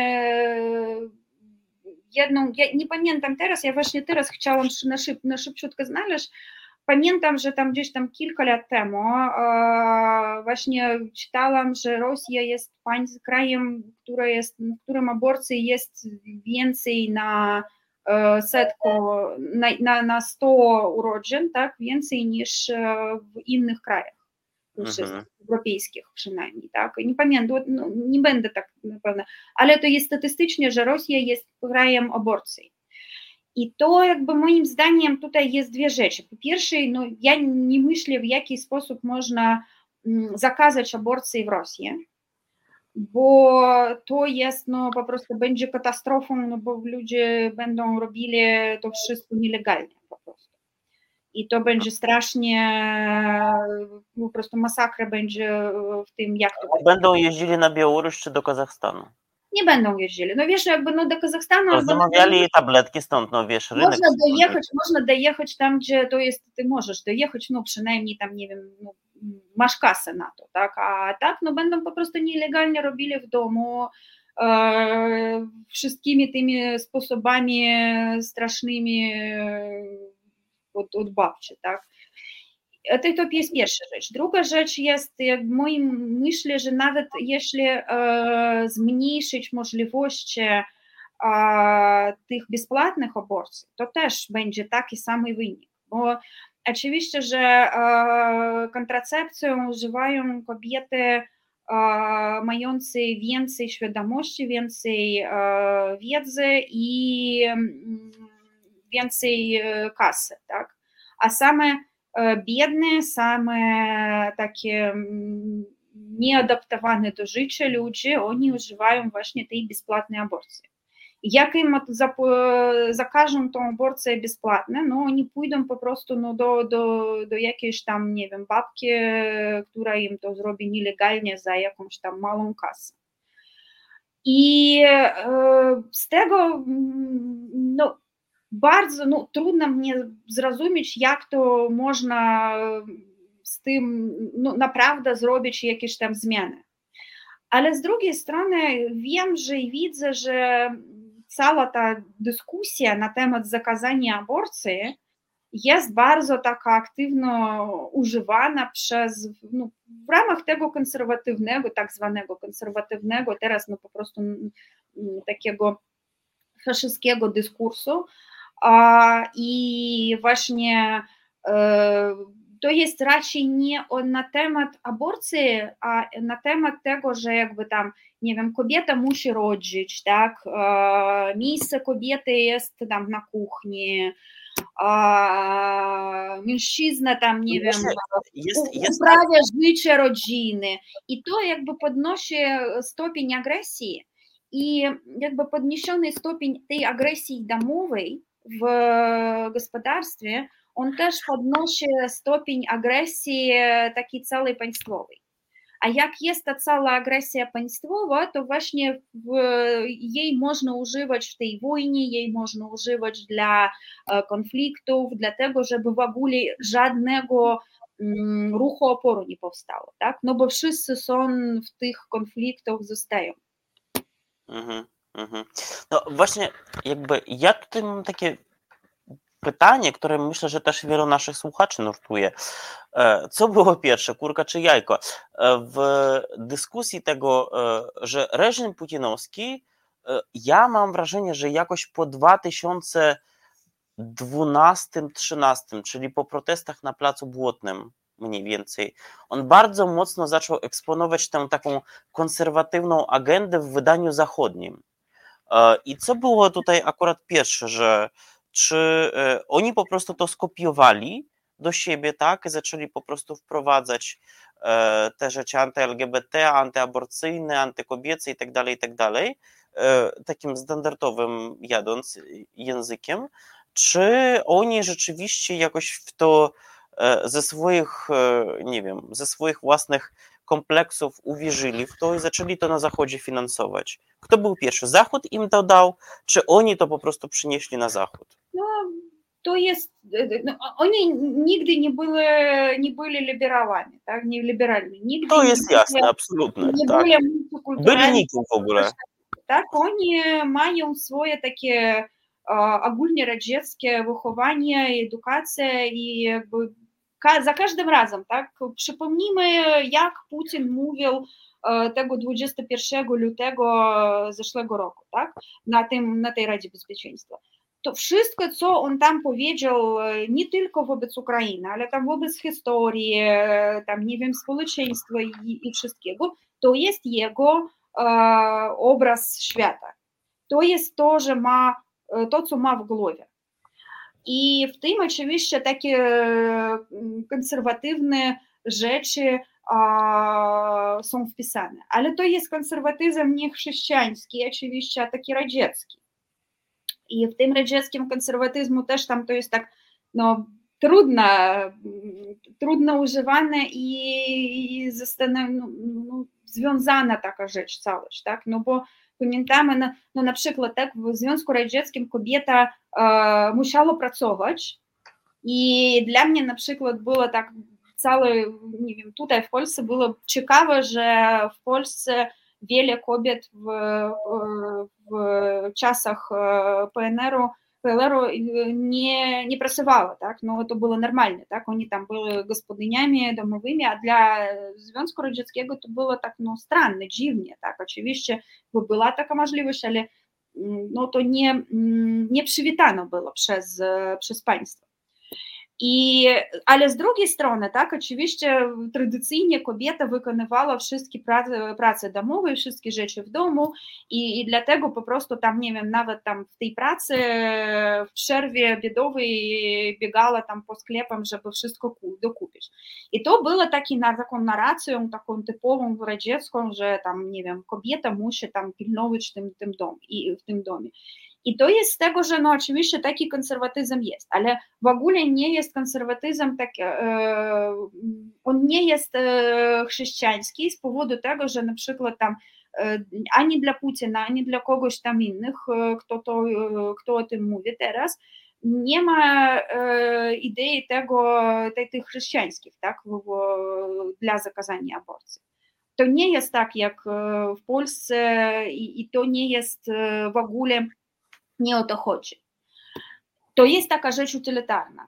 jedną, ja nie pamiętam teraz, ja właśnie teraz chciałam na, szyb, na szybciutko znaleźć, pamiętam, że tam gdzieś tam kilka lat temu właśnie czytałam, że Rosja jest krajem, który jest, w którym aborcji jest więcej na setku, na, na, na sto urodzin, tak, więcej niż w innych krajach. Mhm. Europejskich przynajmniej, tak, nie pamiętam, no, nie będę tak na pewno, ale to jest statystycznie, że Rosja jest krajem aborcji. I to jakby moim zdaniem tutaj jest dwie rzeczy. Po pierwsze, no, ja nie myślę, w jaki sposób można zakazać aborcji w Rosji, bo to jest, no po prostu będzie katastrofą, no bo ludzie będą robili to wszystko nielegalnie po prostu. I to będzie strasznie, po prostu masakra będzie w tym, jak to będzie. Będą jeździli na Białoruś czy do Kazachstanu? Nie będą jeździli. No wiesz, jakby no do Kazachstanu... No, zamawiali na... tabletki stąd, no wiesz, rynek... Można dojechać, można dojechać tam, gdzie to jest, ty możesz dojechać, no przynajmniej tam, nie wiem, no, masz kasę na to, tak? A tak, no będą po prostu nielegalnie robili w domu, e, wszystkimi tymi sposobami strasznymi od, od babci, tak? To, to jest pierwsza rzecz. Druga rzecz jest, jak w moim myślę, że nawet jeśli e, zmniejszyć możliwości e, tych bezpłatnych aborcji, to też będzie taki sam wynik, bo oczywiście, że e, kontracepcję używają kobiety e, mające więcej świadomości, więcej e, wiedzy i e, więcej kasy, tak? A same biedne, same takie nieadaptowane do życia ludzie, oni używają właśnie tej bezpłatnej aborcji. Jak im zakażą tą aborcję bezpłatną, no oni pójdą po prostu no, do, do, do jakiejś tam, nie wiem, babki, która im to zrobi nielegalnie za jakąś tam małą kasę. I z tego, no, bardzo no, trudno mnie zrozumieć, jak to można z tym no, naprawdę zrobić jakieś tam zmiany. Ale z drugiej strony wiem, że i widzę, że cała ta dyskusja na temat zakazania aborcji jest bardzo taka aktywno używana przez, no, w ramach tego konserwatywnego, tak zwanego konserwatywnego, teraz no po prostu takiego faszystowskiego dyskursu. I właśnie to jest raczej nie na temat aborcji, a na temat tego, że jakby tam, nie wiem, kobieta musi rodzić, tak, miejsce kobiety jest tam na kuchni, mężczyzna tam, nie wiem, jest, jest uprawia życie rodziny i to jakby podnosi stopień agresji i jakby podniesiony stopień tej agresji domowej w gospodarstwie, on też podnosi stopień agresji takiej całej państwowej. A jak jest ta cała agresja państwowa, to właśnie w, jej można używać w tej wojnie, jej można używać dla konfliktów, dlatego żeby w ogóle żadnego um, ruchu oporu nie powstało, tak? No bo wszyscy są w tych konfliktach, zostają. Mhm, mhm. No właśnie, jakby ja tutaj mam takie pytanie, które myślę, że też wielu naszych słuchaczy nurtuje. Co było pierwsze, kurka czy jajko? W dyskusji tego, że reżim putinowski, ja mam wrażenie, że jakoś po dwa tysiące dwunastym trzynastym, czyli po protestach na Placu Błotnym mniej więcej, on bardzo mocno zaczął eksponować tę taką konserwatywną agendę w wydaniu zachodnim. I co było tutaj akurat pierwsze, że czy oni po prostu to skopiowali do siebie, tak, i zaczęli po prostu wprowadzać te rzeczy anty-L G B T, antyaborcyjne, antykobiece i tak dalej, i tak dalej, takim standardowym jadąc językiem, czy oni rzeczywiście jakoś w to ze swoich, nie wiem, ze swoich własnych kompleksów uwierzyli w to i zaczęli to na Zachodzie finansować. Kto był pierwszy? Zachód im to dał, czy oni to po prostu przynieśli na Zachód? No, to jest, no, oni nigdy nie byli, nie byli liberałami, tak, nie liberalni. Nigdy to jest nie jasne, byli, absolutnie. Nie tak. byli multikulturalni. Byli nikim w ogóle. Tak, oni mają swoje takie ogólnoradzieckie wychowanie, edukację i jakby za każdym razem, tak, przypomnijmy, jak Putin mówił tego dwudziestego pierwszego lutego zeszłego roku, tak, na, tym, na tej Radzie Bezpieczeństwa. To wszystko, co on tam powiedział, nie tylko wobec Ukrainy, ale tam wobec historii, tam, nie wiem, społeczeństwa i, i wszystkiego, to jest jego e, obraz świata. To jest to, że ma, to, co ma w głowie. I w tym oczywiście takie konserwatywne rzeczy a, są wpisane. Ale to jest konserwatyzm nie chrześcijański, oczywiście, a taki radziecki. I w tym radzieckim konserwatyzmu też tam to jest tak, no, trudno, trudno używane i, i zastanów, no, no, związana taka rzecz, całość, tak, no bo pamiętamy, no, no na przykład tak, w Związku Radzieckim kobieta e, musiała pracować i dla mnie na przykład było tak całe, nie wiem, tutaj w Polsce było ciekawe, że w Polsce wiele kobiet w, w czasach P N R-u, P L R-u nie, nie pracowało, tak, no to było normalne, tak, oni tam były gospodyniami domowymi, a dla Związku Radzieckiego to było tak, no, stranne, dziwnie, tak, oczywiście była taka możliwość, ale no to nie, nie przywitano było przez, przez państwo. I, ale z drugiej strony, tak, oczywiście tradycyjnie kobieta wykonywała wszystkie prace, prace domowe, wszystkie rzeczy w domu i, i dlatego po prostu tam, nie wiem, nawet tam w tej pracy w przerwie biedowej biegała tam po sklepom, żeby wszystko dokupić. I to było taki, na, taką narracją, taką typową radziecką, że tam, nie wiem, kobieta musi tam pilnować w tym, tym dom, i, w tym domie. I to jest z tego, że no oczywiście taki konserwatyzm jest, ale w ogóle nie jest konserwatyzm, tak, e, on nie jest e, chrześcijański z powodu tego, że na przykład tam e, ani dla Putina, ani dla kogoś tam innych, e, kto, to, e, kto o tym mówi teraz, nie ma e, idei tego, tej, tych chrześcijańskich, tak, w, w, dla zakazania aborcji. To nie jest tak jak w Polsce i, i to nie jest w ogóle nie o to chodzi. To jest taka rzecz utylitarna.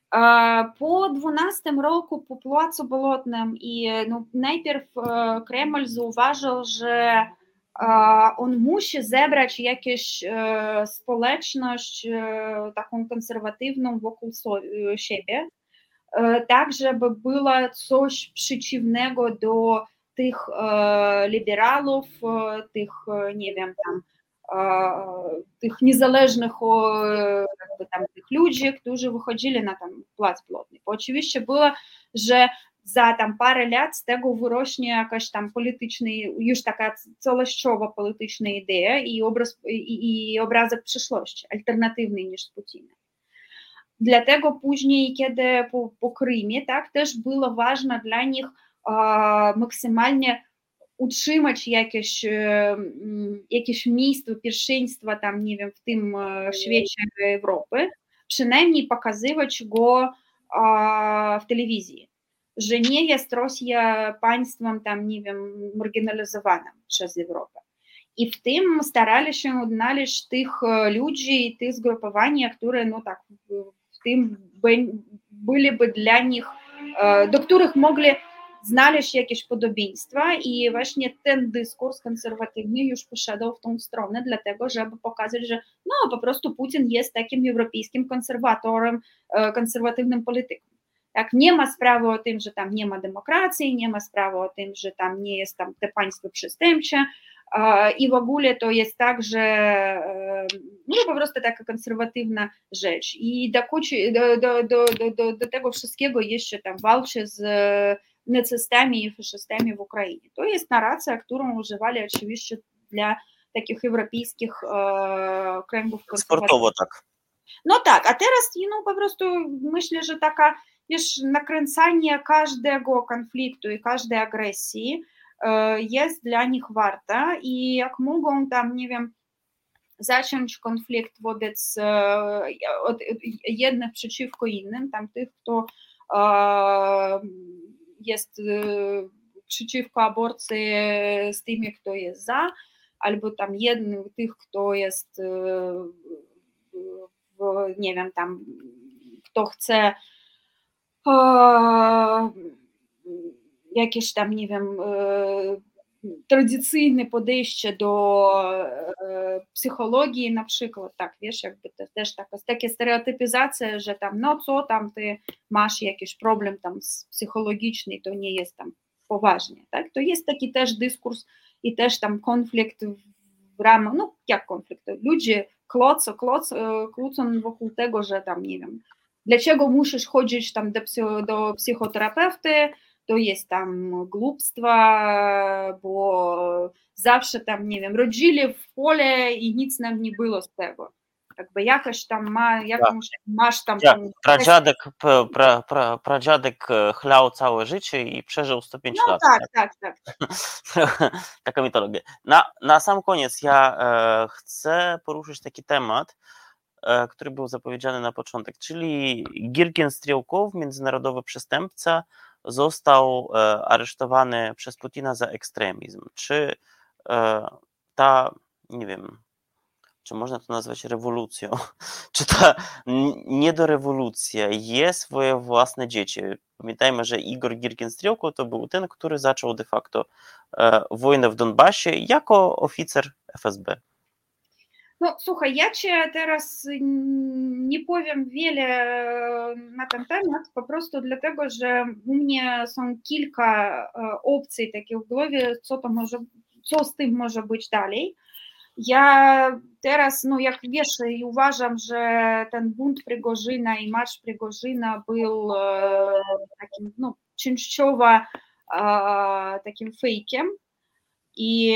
Po dwunastym roku, po Placu Bolotnym i no, najpierw Kreml zauważył, że on musi zebrać jakąś społeczność taką konserwatywną wokół siebie, tak żeby było coś przeciwnego do tych liberałów, tych, nie wiem, tam, tych niezależnych jakby tam tych ludzi, którzy wychodzili na tam plac Błotny. Bo oczywiście było, że za tam parę lat z tego wyrośnie jakaś tam polityczna, już taka całościowa polityczna idea i, obraz, i, i obrazek przyszłości, alternatywny niż z Putinem. Dlatego później, kiedy po, po Krymie, tak, też było ważne dla nich e, maksymalnie utrzymać jakieś, e, jakieś miejsce pierwszeństwa tam, nie wiem, w tym e, świecie Europy, przynajmniej pokazywać go e, w telewizji, że nie jest Rosja państwem tam, nie wiem, marginalizowanym przez Europę. I w tym starali się odnaleźć tych ludzi i tych zgrupowań, które no tak w tym byliby dla nich, do których mogli znaleźć jakieś podobieństwa i właśnie ten dyskurs konserwatywny już poszedł w tą stronę, dlatego żeby pokazać, że no po prostu Putin jest takim europejskim konserwatorem, konserwatywnym politykiem. Tak, nie ma sprawy o tym, że tam nie ma demokracji, nie ma sprawy o tym, że tam nie jest tam te państwo przestępcze i w ogóle to jest tak, że no po prostu taka konserwatywna rzecz i do, do, do, do, do, do tego wszystkiego jeszcze tam walczy z nacystami i faszystami w Ukrainie. To jest narracja, którą używali oczywiście dla takich europejskich e, kręgów konserwatywnych. Sportowo tak. No tak, a teraz no po prostu myślę, że taka wiesz, nakręcanie każdego konfliktu i każdej agresji e, jest dla nich warta i jak mogą tam, nie wiem, zacząć konflikt wobec e, od jednych przeciwko innym, tam tych, kto e, jest e, przeciwko aborcji z tymi, kto jest za, albo tam jednych tych, kto jest e, w, nie wiem, tam kto chce e, jakieś tam, nie wiem, e, tradycyjne podejście do e, psychologii na przykład, tak, wiesz, jakby to, też taka, takie stereotypizacja, że tam, no co tam ty masz jakiś problem tam psychologiczny, to nie jest tam poważnie, tak, to jest taki też dyskurs i też tam konflikt w ramach, no jak konflikt, ludzie kłócą, kłócą, kłócą wokół tego, że tam, nie wiem, dlaczego musisz chodzić tam do, psy, do psychoterapeuty, to jest tam głupstwo, bo zawsze tam, nie wiem, rodzili w pole i nic nam nie było z tego. Jakby jakoś tam ma, jakąś, masz tam... Ja, tam pradziadek, pra, pra, pradziadek chlał całe życie i przeżył sto pięć no lat. tak, tak, tak. tak. Taka mitologia. Na, na sam koniec ja e, chcę poruszyć taki temat, e, który był zapowiedziany na początek, czyli Girkin Strielkow, międzynarodowy przestępca, został e, aresztowany przez Putina za ekstremizm. Czy e, ta, nie wiem, czy można to nazwać rewolucją, czy ta niedorewolucja je swoje własne dzieci? Pamiętajmy, że Igor Girkin-Strielkow to był ten, który zaczął de facto e, wojnę w Donbasie jako oficer F S B. No słuchaj, ja cię teraz nie powiem wiele na ten temat, po prostu dlatego, że u mnie są kilka opcji takich w głowie, co to może, co z tym może być dalej. Ja teraz, no jak wiesz, uważam, że ten bunt Prigorzyna i marsz Prigorzyna był takim, no częściowo takim fejkiem i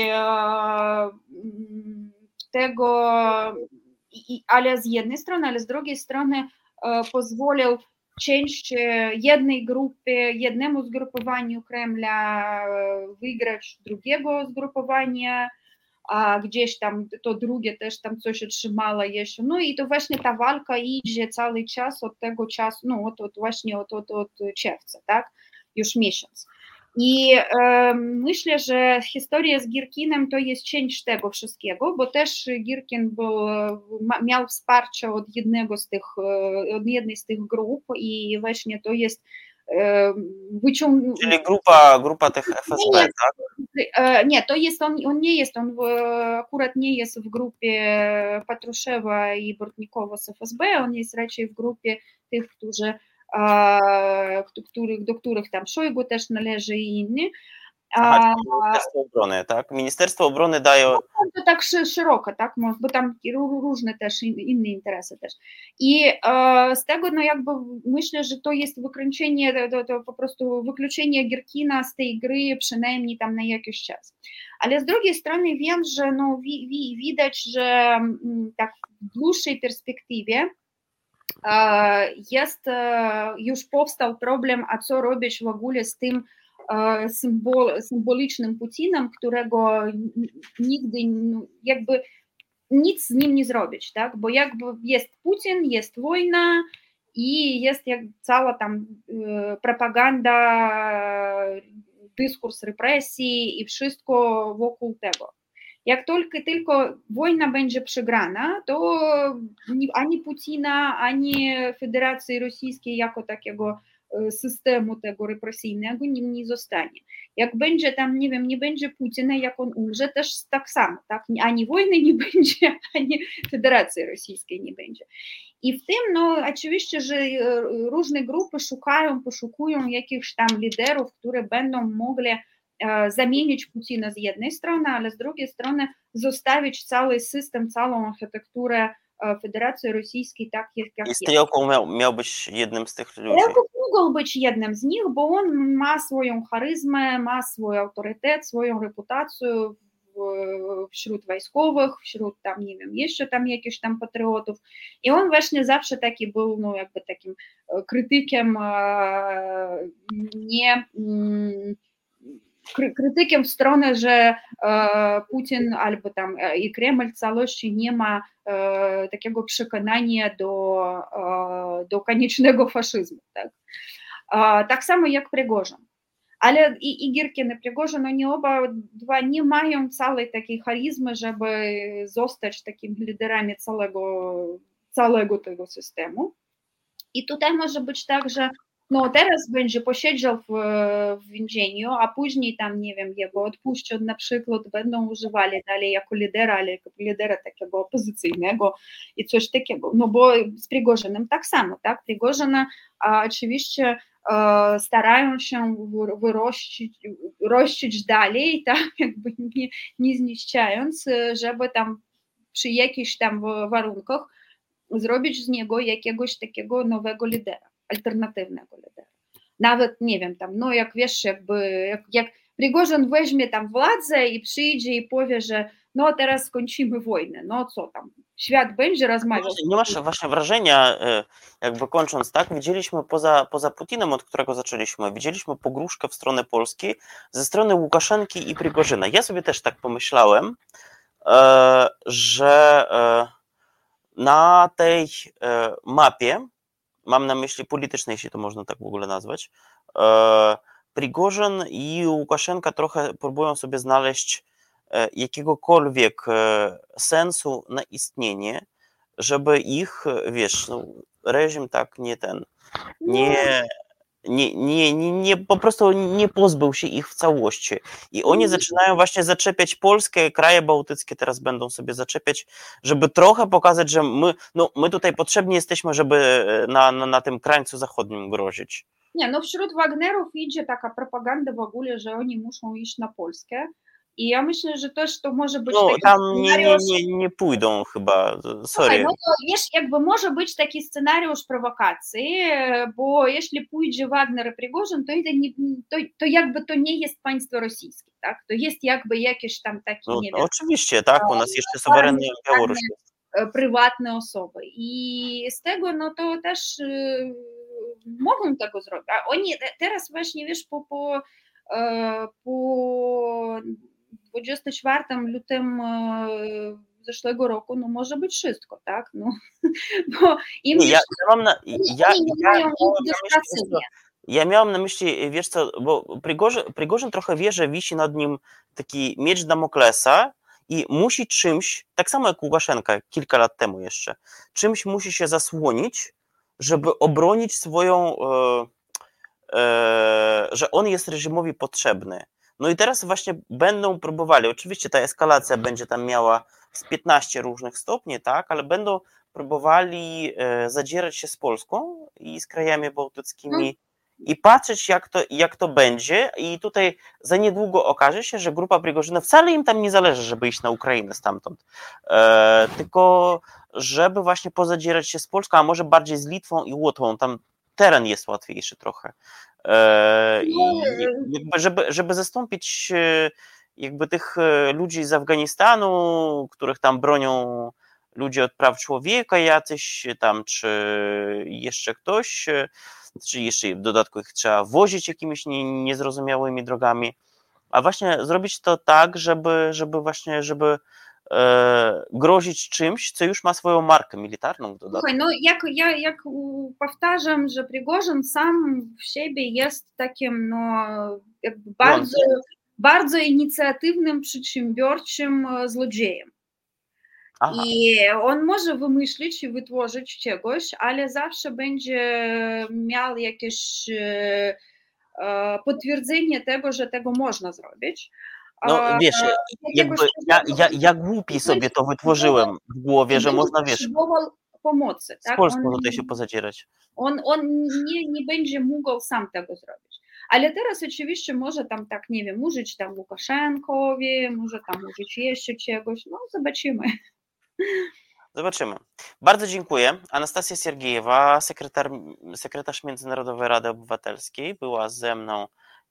tego, i, ale z jednej strony, ale z drugiej strony e, pozwolił część jednej grupy, jednemu zgrupowaniu Kremla wygrać drugiego zgrupowania, a gdzieś tam to drugie też tam coś otrzymało jeszcze. No i to właśnie ta walka idzie cały czas od tego czasu, no od, od właśnie od, od, od czerwca, tak, już miesiąc. I e, myślę, że historia z Girkinem to jest część tego wszystkiego, bo też Girkin był, ma, miał wsparcie od jednego z tych, od jednej z tych grup i właśnie to jest e, wyciąg... Czyli grupa, grupa tych F S B, nie, tak? E, nie, to jest on, on nie jest, on w, akurat nie jest w grupie Patruszewa i Bortnikowa z F S B, on jest raczej w grupie tych, którzy których, do których tam Szojgu też należy i inni. Aha, Ministerstwo Obrony, tak? Ministerstwo Obrony daje... No, to tak szeroko, tak? Bo tam różne też inne interesy też. I e, z tego, no jakby myślę, że to jest wykręcenie, to, to po prostu wykluczenie Gierkina z tej gry przynajmniej tam na jakiś czas. Ale z drugiej strony wiem, że no wi, wi, widać, że tak w dłuższej perspektywie e, jest, e, już powstał problem, a co robić w ogóle z tym Symbol, symbolicznym Putinem, którego nigdy jakby nic z nim nie zrobić, tak? Bo jakby jest Putin, jest wojna i jest jak cała tam propaganda, dyskurs represji i wszystko wokół tego. Jak tylko, tylko wojna będzie przegrana, to ani Putina, ani Federacji Rosyjskiej jako takiego systemu tego represyjnego nie, nie zostanie. Jak będzie tam, nie wiem, nie będzie Putina, jak on umrze, też tak samo, tak? Ani wojny nie będzie, ani Federacji Rosyjskiej nie będzie. I w tym, no oczywiście, że różne grupy szukają, poszukują jakichś tam liderów, które będą mogli e, zamienić Putina z jednej strony, ale z drugiej strony zostawić cały system, całą architekturę Federacji Rosyjskiej tak jak I jest. Stryjokow miał, miał być jednym z tych ludzi. Stryjokow mógł być jednym z nich, bo on ma swoją charyzmę, ma swój autorytet, swoją reputację wśród wojskowych, wśród tam, nie wiem, jeszcze tam jakichś tam patriotów. I on właśnie zawsze taki był, no jakby takim krytykiem nie... krytykiem w stronę, że e, Putin albo tam e, i Kreml w całości nie ma e, takiego przekonania do, e, do koniecznego faszyzmu. Tak? E, tak samo jak Prigorzyn. Ale i, i Girkin i Prigorzyn, oni oba dwa nie mają całej takiej charyzmy, żeby zostać takimi liderami całego, całego tego systemu. I tutaj może być tak, że no teraz będzie posiedział w, w więzieniu, a później tam, nie wiem, jego odpuszczą na przykład, będą używali dalej jako lidera, ale jako lidera takiego opozycyjnego i coś takiego. No bo z Prigorzynem tak samo, tak? Prigorzyna a, oczywiście a, starają się wyrościć, rościć dalej, tak? Jakby nie, nie zniszczając, żeby tam przy jakichś tam warunkach zrobić z niego jakiegoś takiego nowego lidera, alternatywnego lidera. Nawet, nie wiem, tam, no jak wiesz, jakby, jak, jak Prigorzyn weźmie tam władzę i przyjdzie i powie, że no teraz skończymy wojnę, no co tam, świat będzie rozmawiał. Nie masz właśnie wrażenia, jakby kończąc, tak, widzieliśmy poza, poza Putinem, od którego zaczęliśmy, widzieliśmy pogróżkę w stronę Polski ze strony Łukaszenki i Prigorzyna. Ja sobie też tak pomyślałem, że na tej mapie, mam na myśli politycznej, jeśli to można tak w ogóle nazwać, Prigorzyn i Łukaszenka trochę próbują sobie znaleźć jakiegokolwiek sensu na istnienie, żeby ich, wiesz, no, reżim tak nie ten, nie, nie, nie, nie, nie, po prostu nie pozbył się ich w całości. I oni zaczynają właśnie zaczepiać Polskę, kraje bałtyckie teraz będą sobie zaczepiać, żeby trochę pokazać, że my, no, my tutaj potrzebni jesteśmy, żeby na, na, na tym krańcu zachodnim grozić. Nie, no wśród Wagnerów idzie taka propaganda w ogóle, że oni muszą iść na Polskę. I ja myślę, że też to może być no, taki tam scenariusz... nie, nie, nie pójdą chyba, sorry. Słuchaj, no to wiesz, jakby może być taki scenariusz prowokacji, bo jeśli pójdzie Wagner i Prigorzyn, to, nie, to, to jakby to nie jest państwo rosyjskie, tak? To jest jakby jakieś tam takie, no, nie no, wiem... Oczywiście, tak, u nas jeszcze suwerenna Białoruś jest. Prywatne osoby. I z tego, no to też y, mogą tego zrobić. A oni teraz właśnie, wiesz, po, po, po dwudziestego czwartego lutego zeszłego roku, no może być wszystko, tak? No, bo im nie, ja, ja mam na, ja, ja, nie ja, mają ja, ja miałem na myśli, wiesz co, bo Prigorzyn, Prigorzyn trochę wie, że wisi nad nim taki miecz Damoklesa i musi czymś, tak samo jak Łukaszenka kilka lat temu jeszcze, czymś musi się zasłonić, żeby obronić swoją, e, e, że on jest reżimowi potrzebny. No i teraz właśnie będą próbowali, oczywiście ta eskalacja będzie tam miała z piętnaście różnych stopni, tak, ale będą próbowali zadzierać się z Polską i z krajami bałtyckimi i patrzeć, jak to, jak to będzie. I tutaj za niedługo okaże się, że grupa Prigorzyna, wcale im tam nie zależy, żeby iść na Ukrainę stamtąd, e, tylko żeby właśnie pozadzierać się z Polską, a może bardziej z Litwą i Łotwą. Tam teren jest łatwiejszy trochę. E, I jakby, żeby, żeby zastąpić jakby tych ludzi z Afganistanu, których tam bronią ludzie od praw człowieka jacyś tam, czy jeszcze ktoś, czy jeszcze w dodatku ich trzeba wozić jakimiś nie, niezrozumiałymi drogami, a właśnie zrobić to tak, żeby, żeby właśnie, żeby e, grozić czymś, co już ma swoją markę militarną w dodatku. Słuchaj, no jak, ja, jak powtarzam, że Prigorzyn sam w siebie jest takim no, jakby bardzo, bardzo inicjatywnym, przedsiębiorczym złodziejem. Aha. I on może wymyślić i wytworzyć czegoś, ale zawsze będzie miał jakieś e, potwierdzenie tego, że tego można zrobić. No wiesz, e, jakby ja, ja, ja głupi sobie to wytworzyłem w głowie, że można, wiesz, pomocy. Z tak? Polską on, tutaj się pozadzierać. On, on nie, nie będzie mógł sam tego zrobić. Ale teraz oczywiście może tam tak, nie wiem, użyć tam Łukaszenkowi, może tam użyć jeszcze czegoś, no zobaczymy. Zobaczymy. Bardzo dziękuję. Anastazja Siergiejewa, sekretar, sekretarz Międzynarodowej Rady Obywatelskiej, była ze mną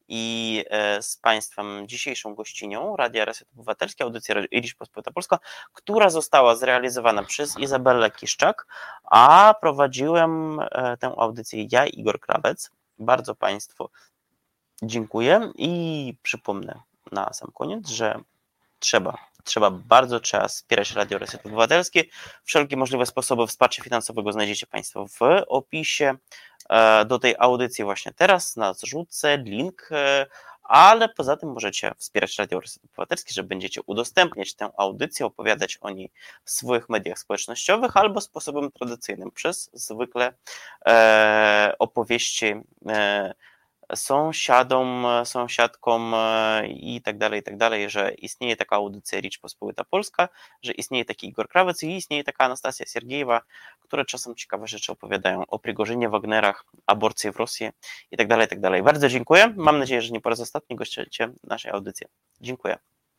i z Państwem dzisiejszą gościnią Radia Reset Obywatelski, audycja Rzeczpospolita Polska, która została zrealizowana przez Izabellę Kiszczak, a prowadziłem tę audycję ja, Igor Krawec. Bardzo Państwu dziękuję i przypomnę na sam koniec, że trzeba, trzeba bardzo trzeba wspierać Radio Reset Obywatelskie. Wszelkie możliwe sposoby wsparcia finansowego znajdziecie Państwo w opisie do tej audycji właśnie teraz, na zrzutce, link, ale poza tym możecie wspierać Radio Reset Obywatelskie, że będziecie udostępniać tę audycję, opowiadać o niej w swoich mediach społecznościowych albo sposobem tradycyjnym, przez zwykle e, opowieści e, sąsiadom, sąsiadkom i tak dalej, i tak dalej, że istnieje taka audycja Rzeczpospolita Polska, że istnieje taki Igor Krawec i istnieje taka Anastazja Siergiejewa, które czasem ciekawe rzeczy opowiadają o Prigorzynie, Wagnerach, aborcji w Rosji i tak dalej, i tak dalej. Bardzo dziękuję. Mam nadzieję, że nie po raz ostatni gościcie naszej audycji. Dziękuję.